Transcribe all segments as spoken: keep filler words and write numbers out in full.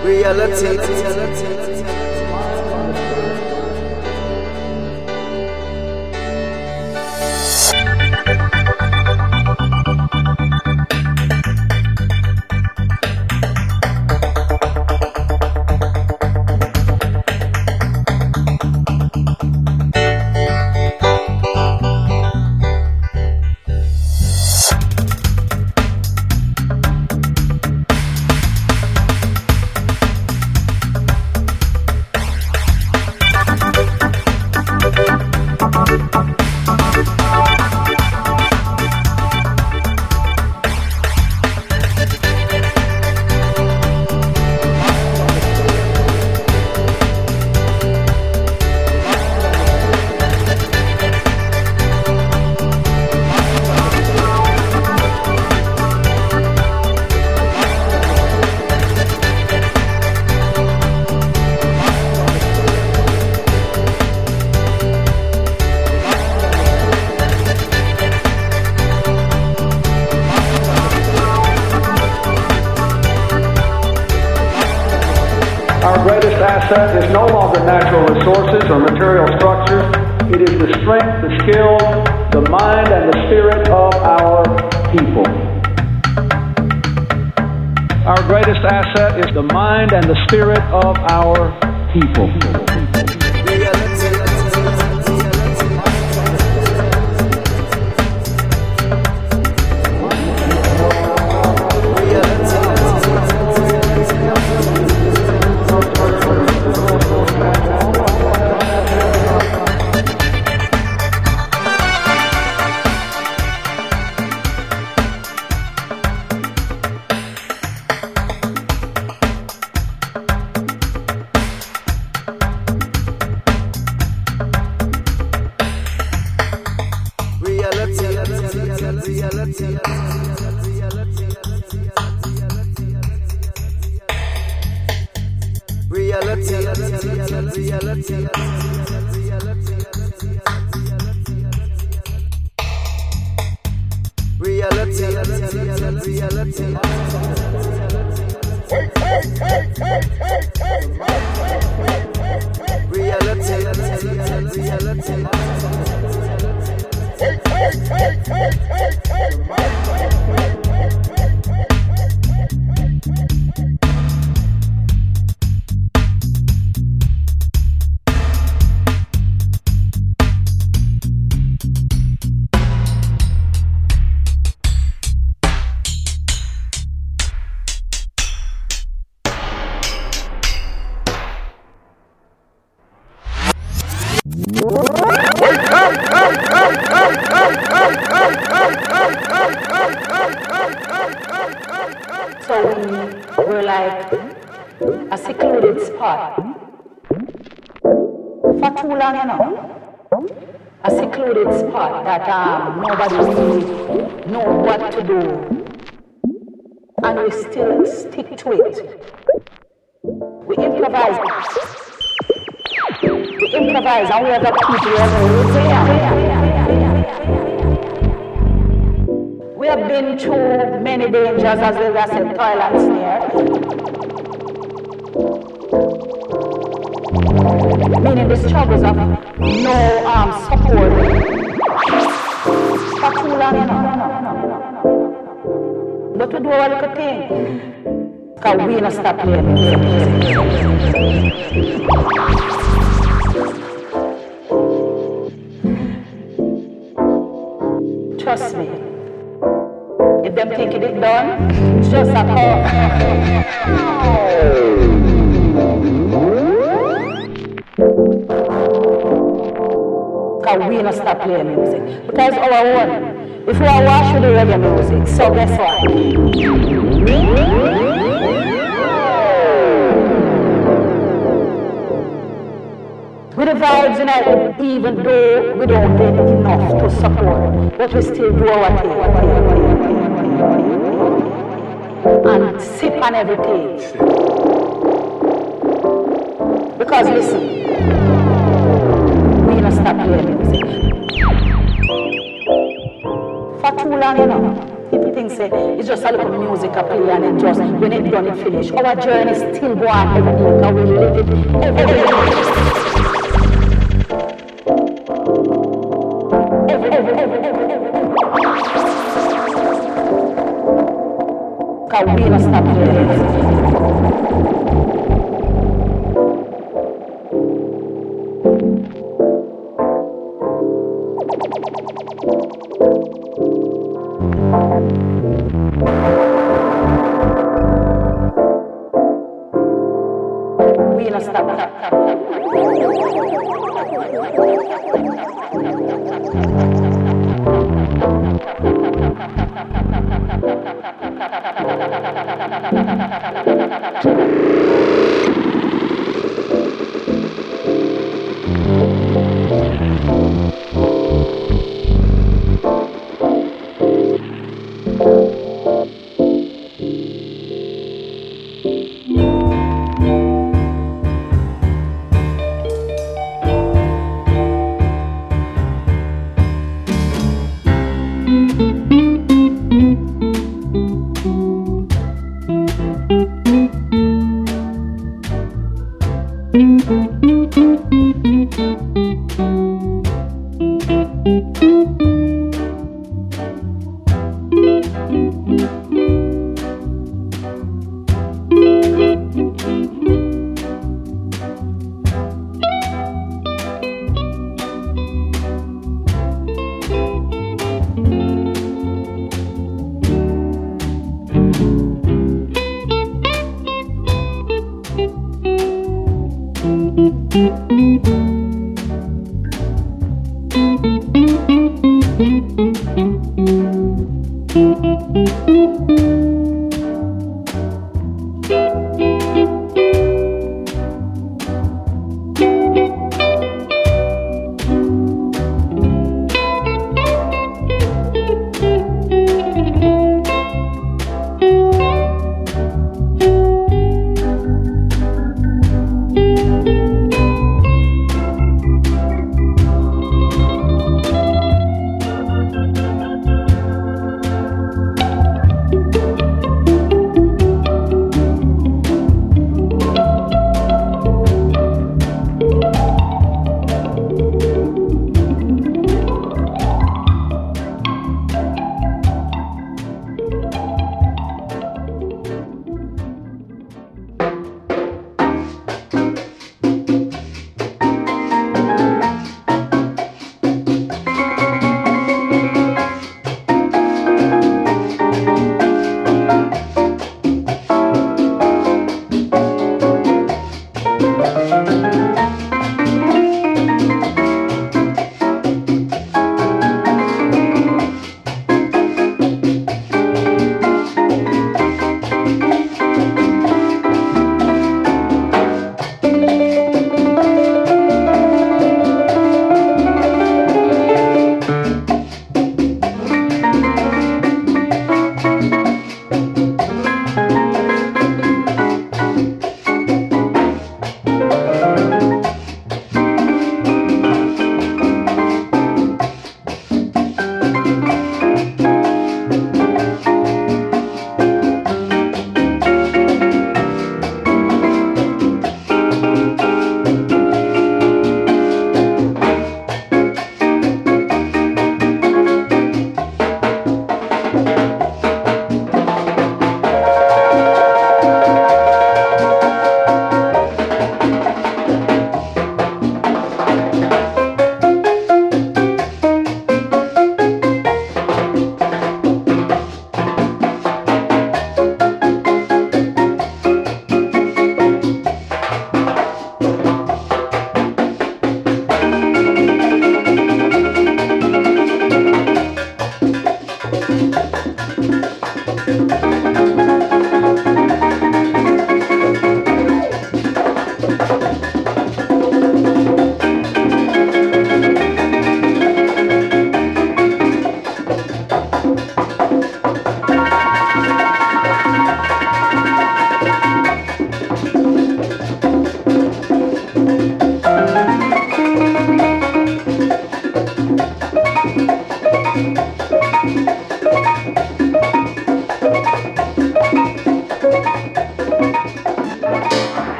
Reality. Asset is no longer natural resources or material structures. It is the strength, the skill, the mind, and the spirit of our people. Our greatest asset is the mind and the spirit of our people. That um, nobody really know what to do, and we still stick to it. We improvise. We improvise, and we have the people who are we have been through many dangers, as they said, toil and snare. Meaning the struggles of no um, support. For too long, you know. But we do our little thing. Because we don't stop playing music. Trust me. If them think it is done, it's just a call. Because we don't stop playing music. Because our own. If we are watching the reggae music, so guess what? With the vibes in it, even though we don't get enough to support, but we still do our thing. And sip on everything. Because listen, we don't stop playing music. For too long, you know, people think say it's just a little music I play and it just, when it done, it finish. Our journey still go on every day, because we live it every day. Every, every, every, every, every. Because we don't stop doing it. We don't stop.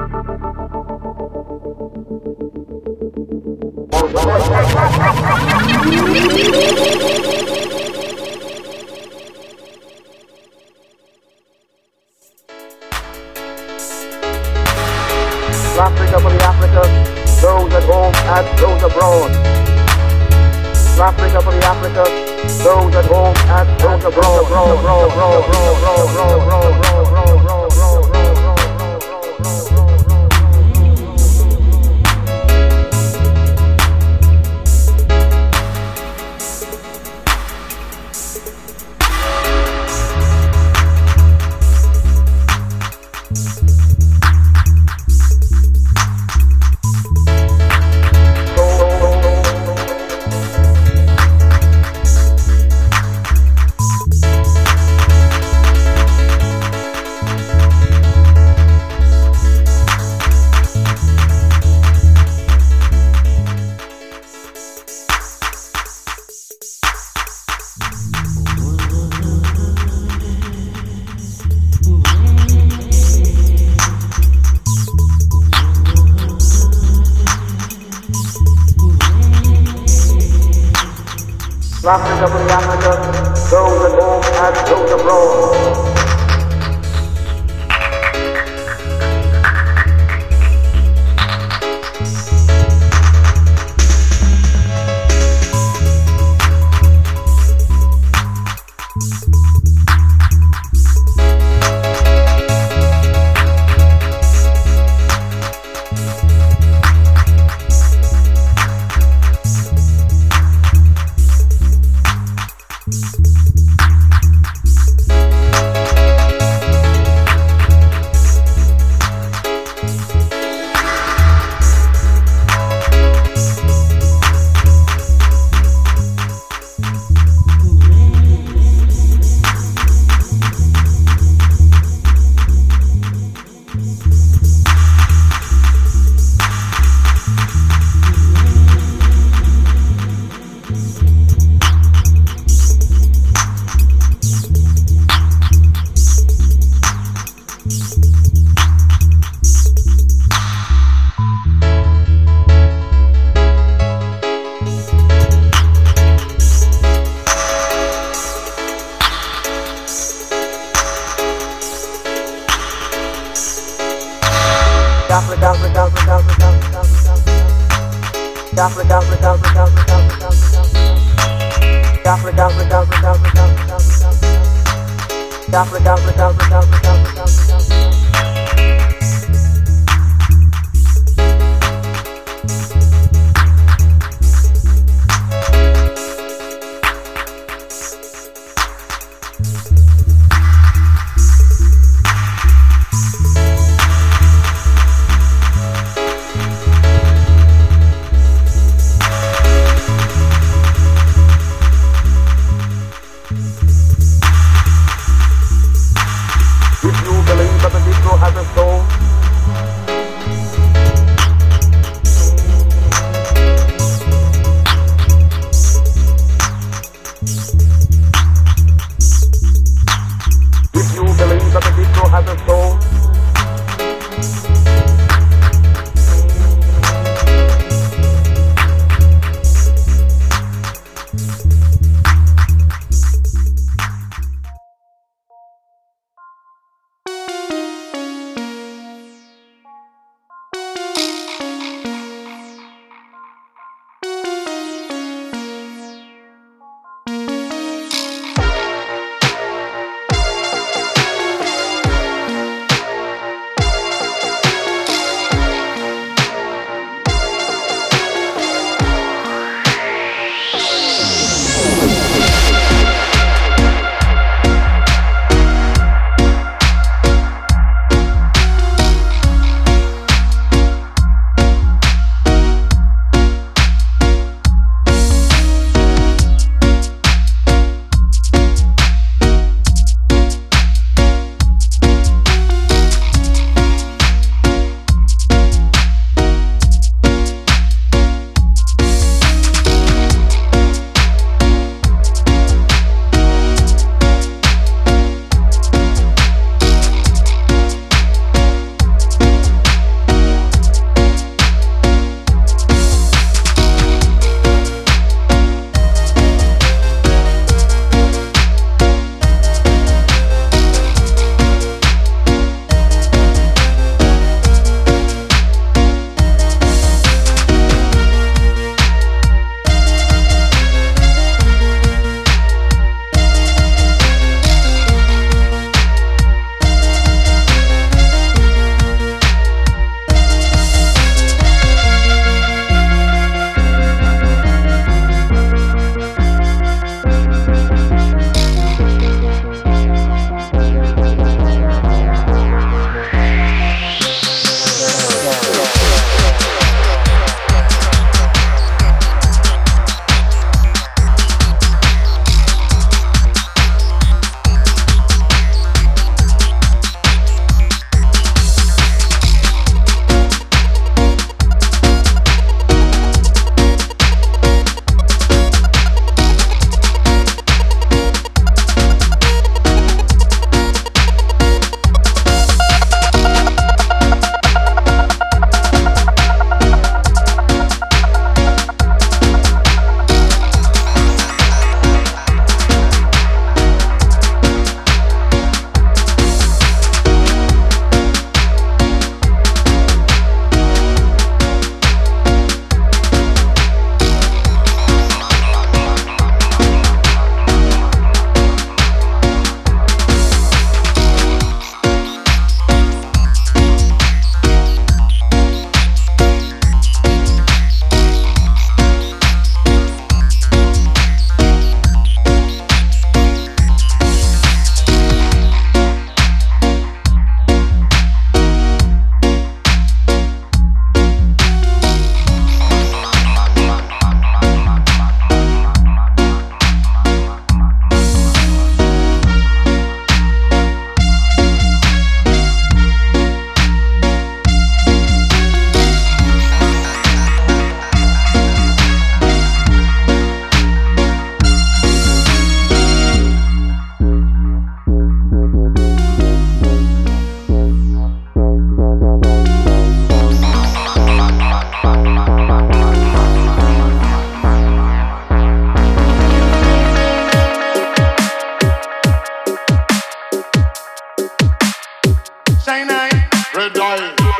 Africa for the Africans, those at home and those abroad. Africa for the Africans, those at home and those abroad. abroad, abroad, abroad, abroad, abroad, abroad, abroad, abroad, abroad, abroad. Africa for the Africans, those at home and those abroad. Africa, Africa, Africa, Africa, Africa, Africa, Africa, Africa, Africa, Africa, Africa, Africa, Africa, Africa, Africa, Africa. If you believe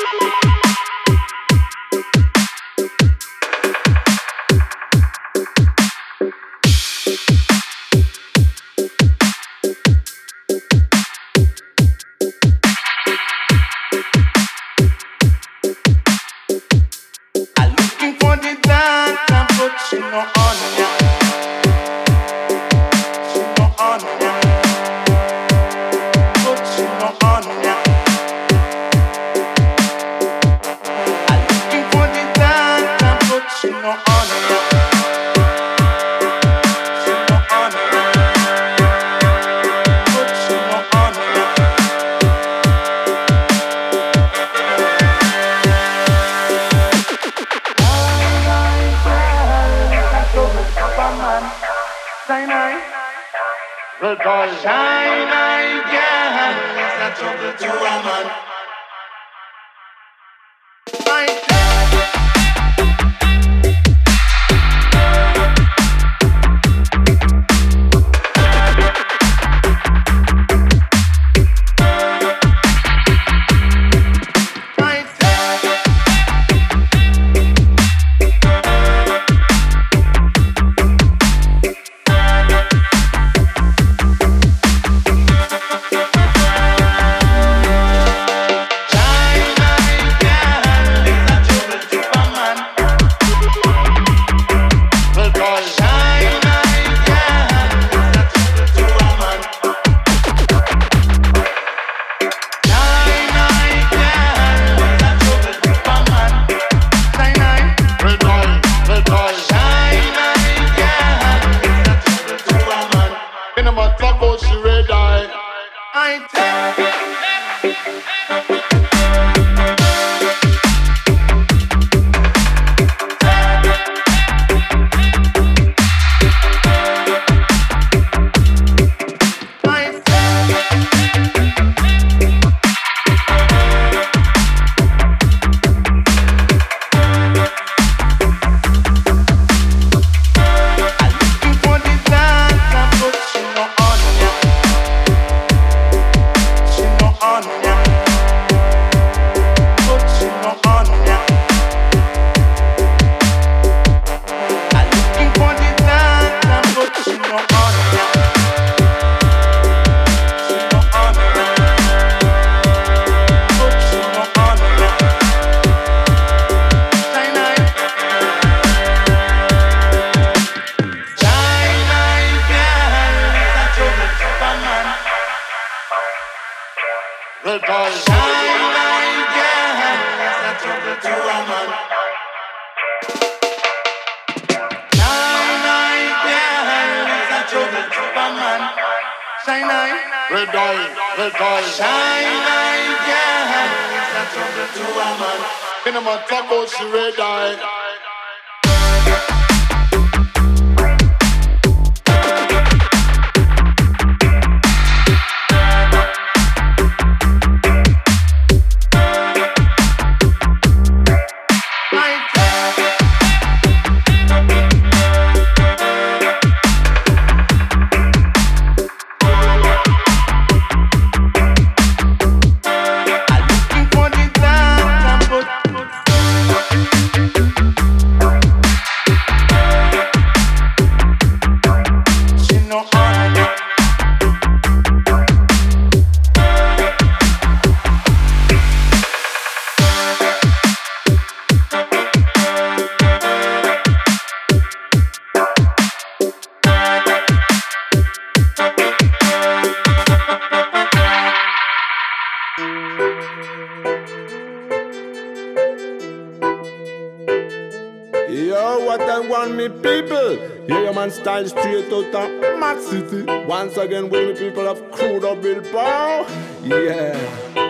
Style straight out of Mad City. Once again with the people of Crudo Bilbao. Yeah.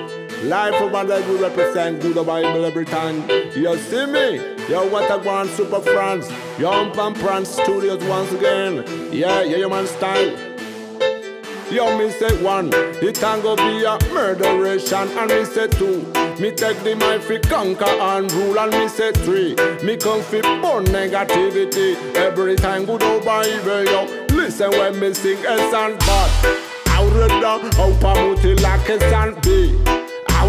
Life of my life we represent good Bible every time. You see me? Yo, what a grand super France. Yo, Pam Pran Studios once again. Yeah, yeah, your man style. Yo, me say one, it can go be a murderation. And me say two, me take the mind fi conquer and rule. And me say three, me come fi burn negativity. Every time good old Bible, yo, listen when me sing S and bad. Out of the, out of muti like S and B. Out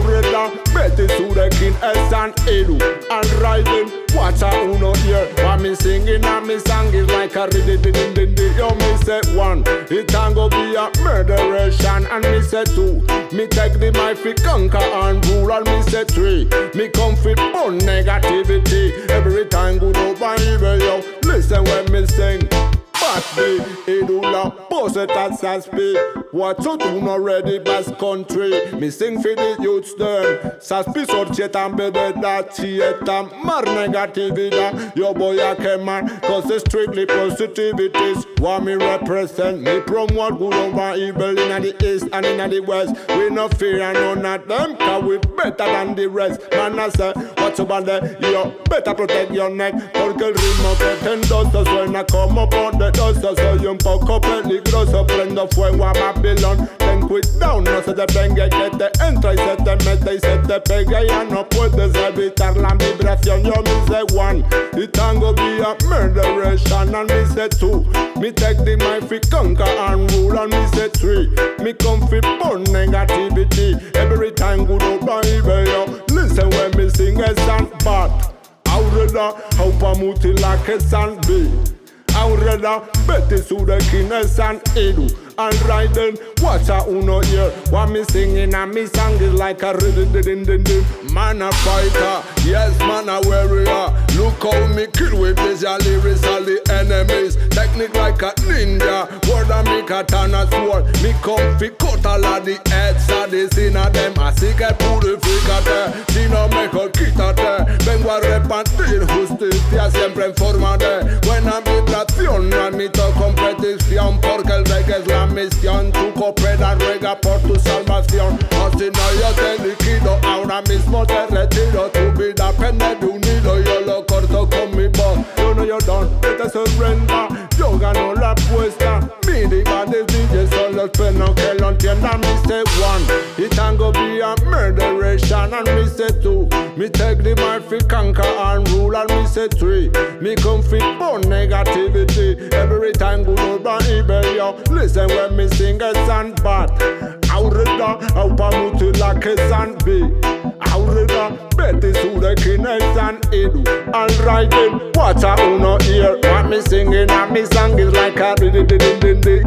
Aureda, Betty Sudekin, S and Edu, and riding. Watch out, uno here. What me singing and me song is like a riddy diddy diddy. Yo, me say one, it can go be a murderation. And me say two, me take the mic fi conquer and rule. And me say three, me come fi burn negativity. Every time good over evil, yo. Listen when me sing. Batty, Edula, boss it as I speak. What you do not ready best country. Me sing for the youths them. Saspi sorchet and bebe that theater. Mar negativity. Your boy a man. Cause it's strictly positivities. What me represent. Me promote good over evil in the east and in the west. We no fear and none of them. Cause we better than the rest. Man I say, what's about that? You better protect your neck. Porque el ritmo que te endosa suena como por de dosa. Soy un poco peligroso. Prendo fuego a Babylon. Ten cuidado, no se te venga que te entra y se te mete y se te pega. Ya no puedes evitar la vibración. Yo me say one, it can go be a murderation. And me say two, me take the mic fi conquer and rule. And me say three, me come fi burn negativity. Every time good over evil, yo. Listen when me sing a song, but Aureda, how pa mutilak a song be. Aureda, Betty Sudekin, S and Edu, and riding. Watch out, uno here. What me singing and me song is like a riddy-diddy-diddy. Man a fighter, yes man a warrior. Look how me kill with visual lyrics all the enemies. Technique like a ninja. Word a me katana sword. Me come fi cut all of the heads of the sin of them. Así que purificate, si no mejor quítate. Vengo a repartir justicia siempre en forma de buena vibración. No admito competición porque el reggae es la misión. Tu coopera, ruega por tu salvación. O si no yo te liquido, ahora mismo te retiro. Tu vida pende de un hilo, yo lo corto con mi voz. You know you don't, vete surrender. Yo gano la apuesta. Mi diva de D J solo espero que lo entiendan. Me say one, it can go be a murderation. And me say two, me take the mic fi conquer and rule. And me say three, me come fi burn negativity. Every time good over evil, yo. Listen when me sing a song, but Aureda, how pa mutilak a song be. Aureda, Betty Sudekin, S and Edu, and riding. Watch out, uno here. What me singing and me song is like a riddy diddy diddy.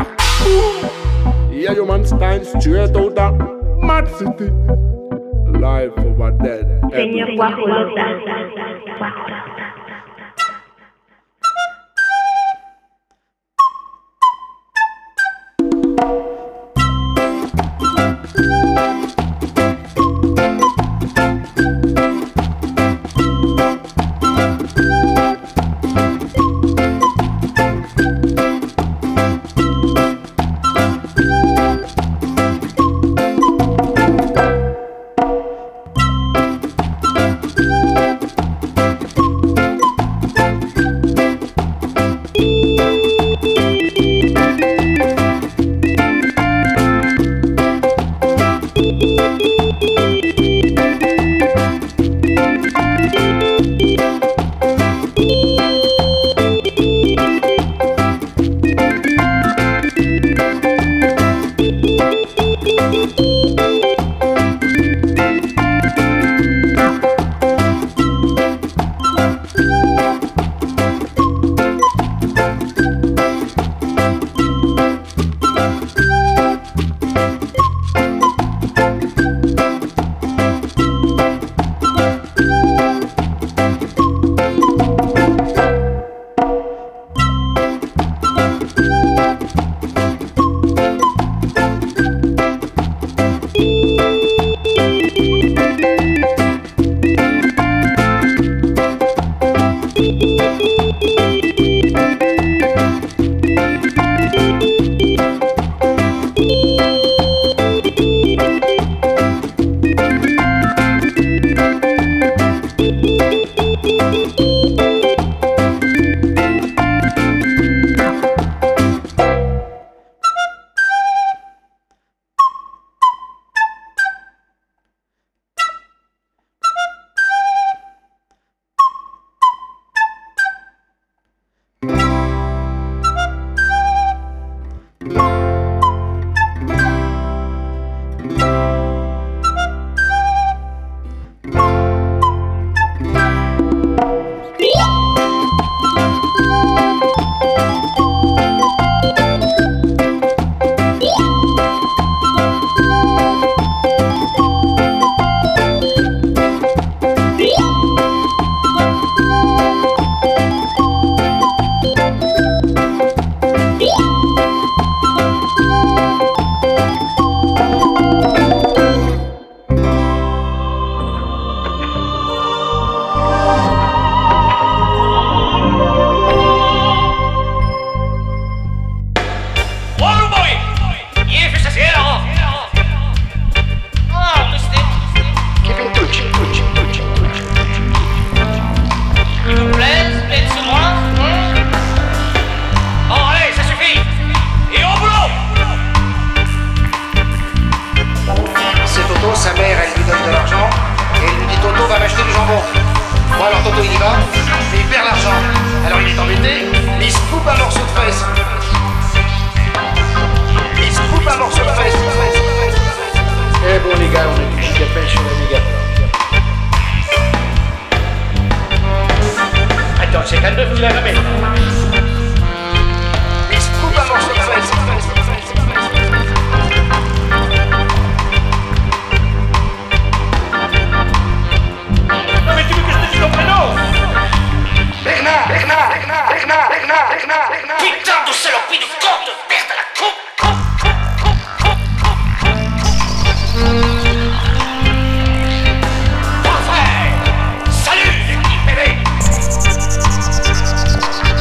Yeah, you man stand straight out of Mad City. Life over dead. Señor Guajolota. morceau de fesse. Il se coupe un morceau de fesse. Eh bon les gars, on est du gigapel sur la méga. Attends, c'est à neuf mille à la mètre. Il se coupe un morceau de fesse. Non mais tu veux que je te dise ton prénom? Bernard, Bernard, Bernard, Bernard, Bernard, Bernard, Bernard. Putain de saloperie de con de perte à la coupe, coupe, coupe, coupe, coupe, coupe. Parfait. Salut l'équipe bébé.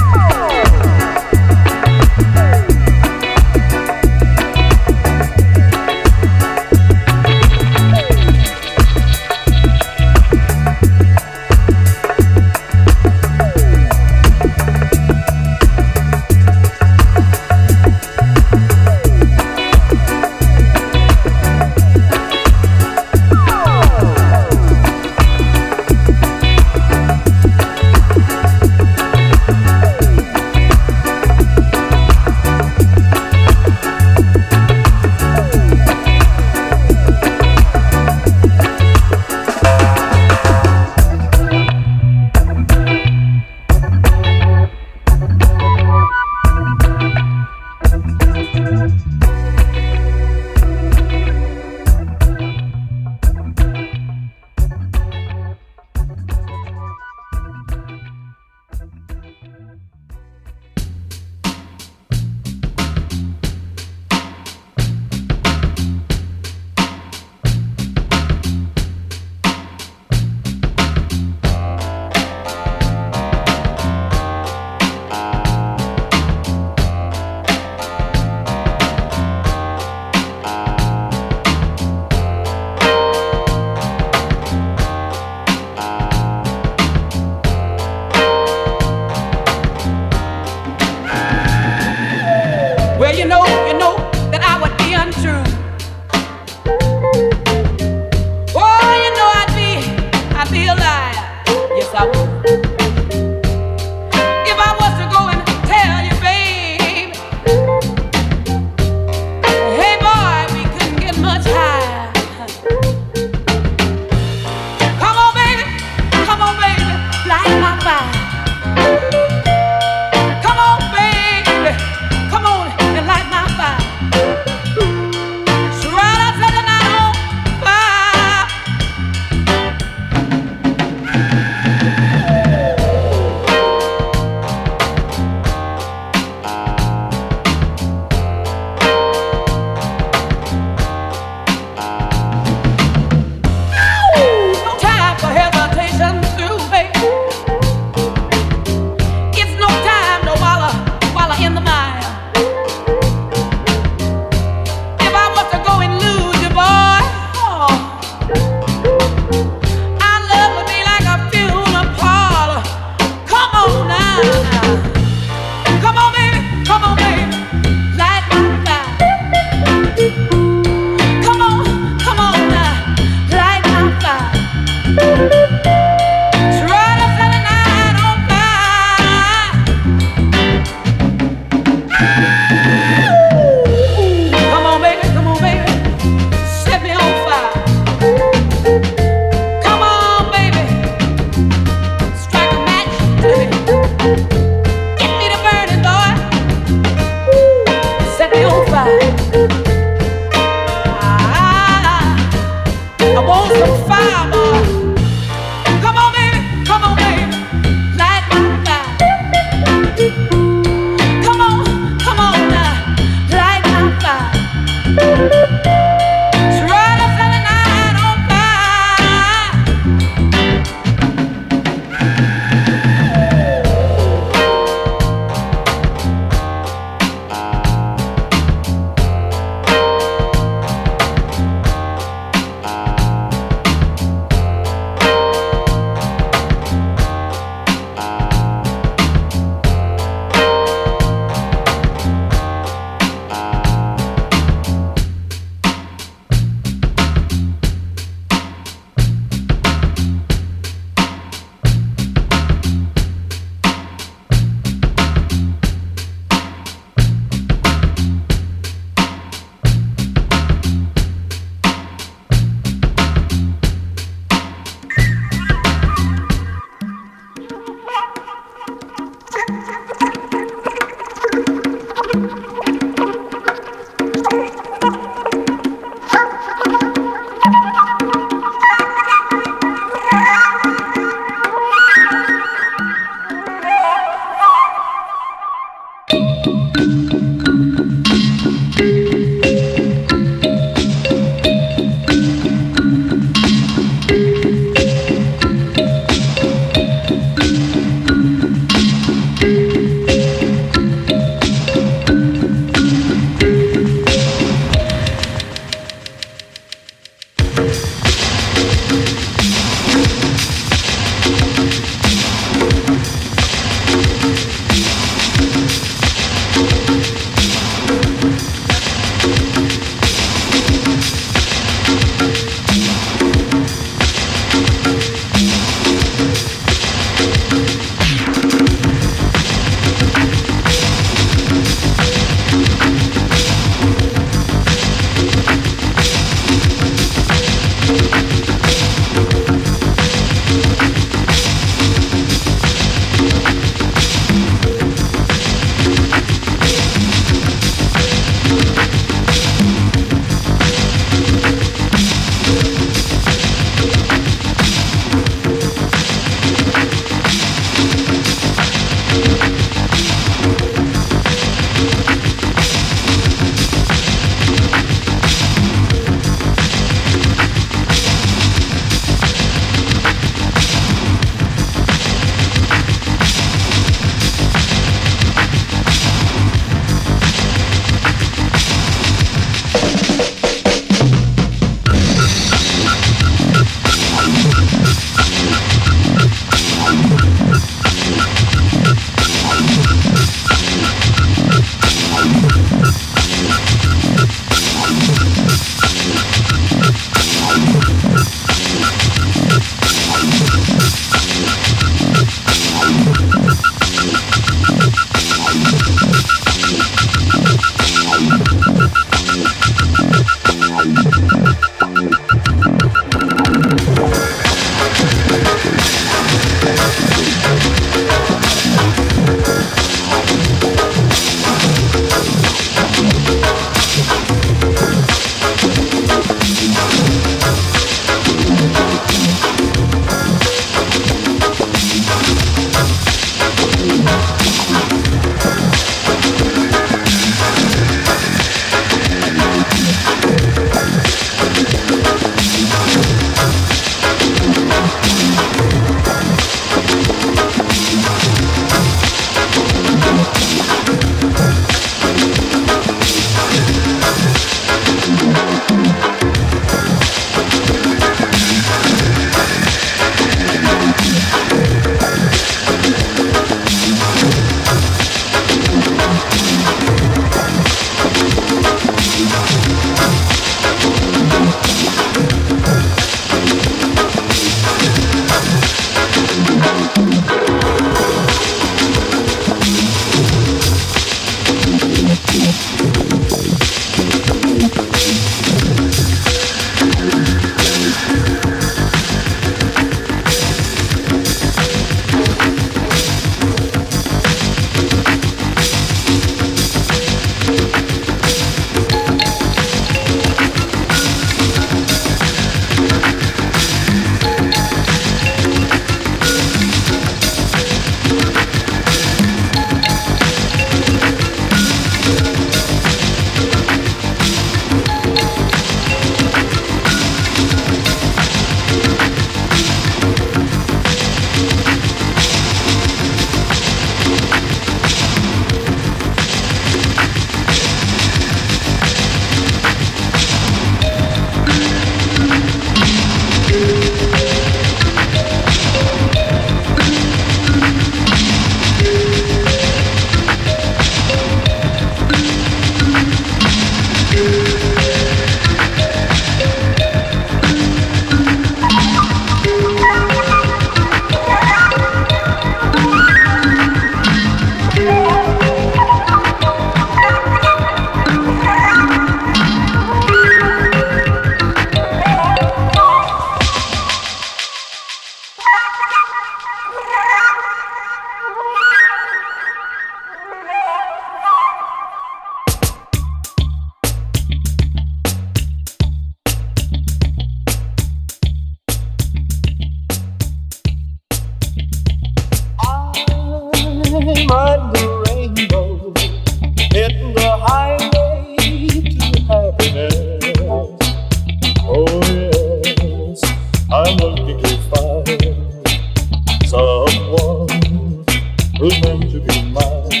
under the rainbow, hitting the highway to happiness. Oh yes, I'm looking to find someone who's meant to be mine.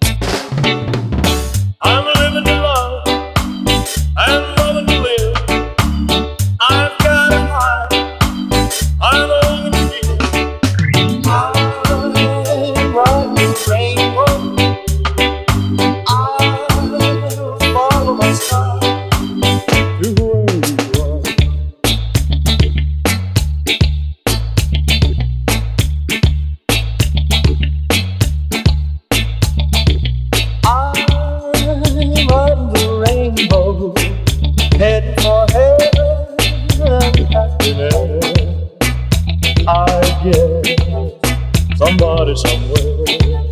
I'm living to love and loving to live. I've got a heart I love to give. I'm riding the rainbow. I'll follow my star to where you are. I'm riding the rainbow, heading for heaven and happiness. I guess somebody somewhere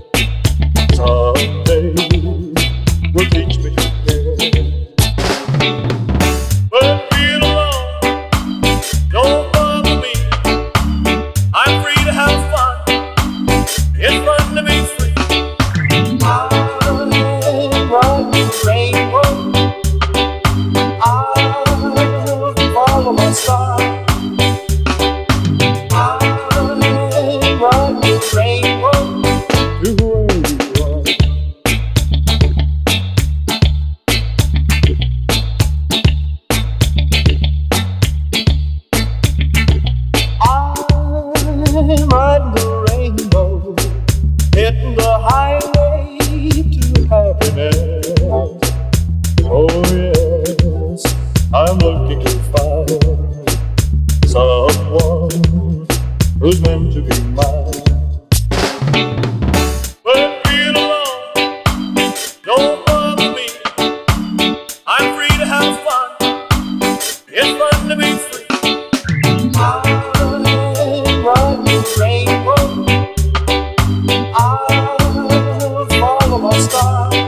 someday will teach me to care. But being alone don't bother me. I'm free to have fun. It's fun to be free. I'm riding the rainbow. I'll follow my star. I'm riding the rainbow to where you are. I'm riding the rainbow, hitting the highway to happiness. Oh yes, I'm looking to find someone who's meant to be mine. But being alone don't bother me. I'm free to have fun. It's fun to be free. I'm riding the rainbow. I'll follow my star.